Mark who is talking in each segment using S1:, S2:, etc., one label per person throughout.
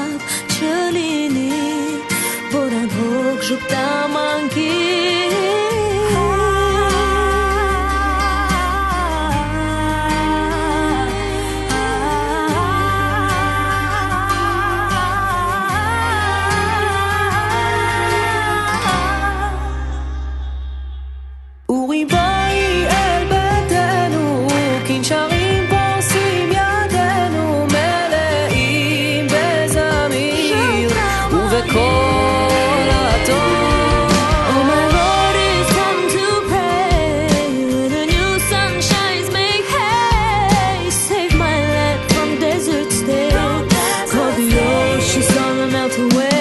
S1: Cellini Voran hok jukta manki Uri boi el betenu Kincharim ponsim yadenu Meleim bezamir Uvekol atom Oh my Lord is come to pray The new sun shines make hay Save my land from desert stay Call the ocean storm and melt away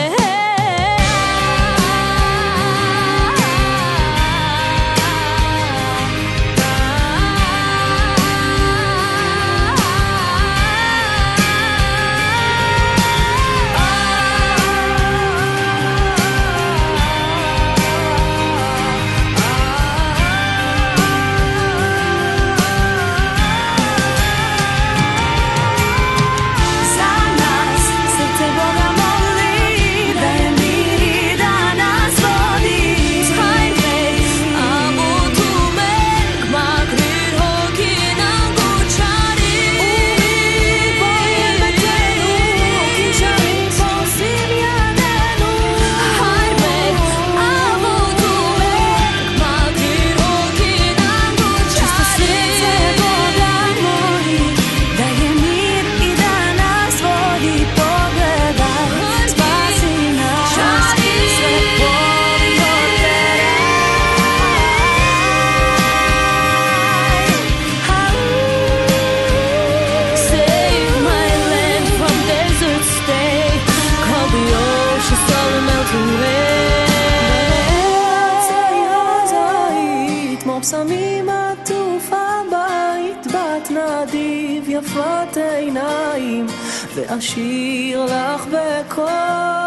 S1: שמים עטוף הבית בת נדיב יפת עיניים ואשיר לך בקול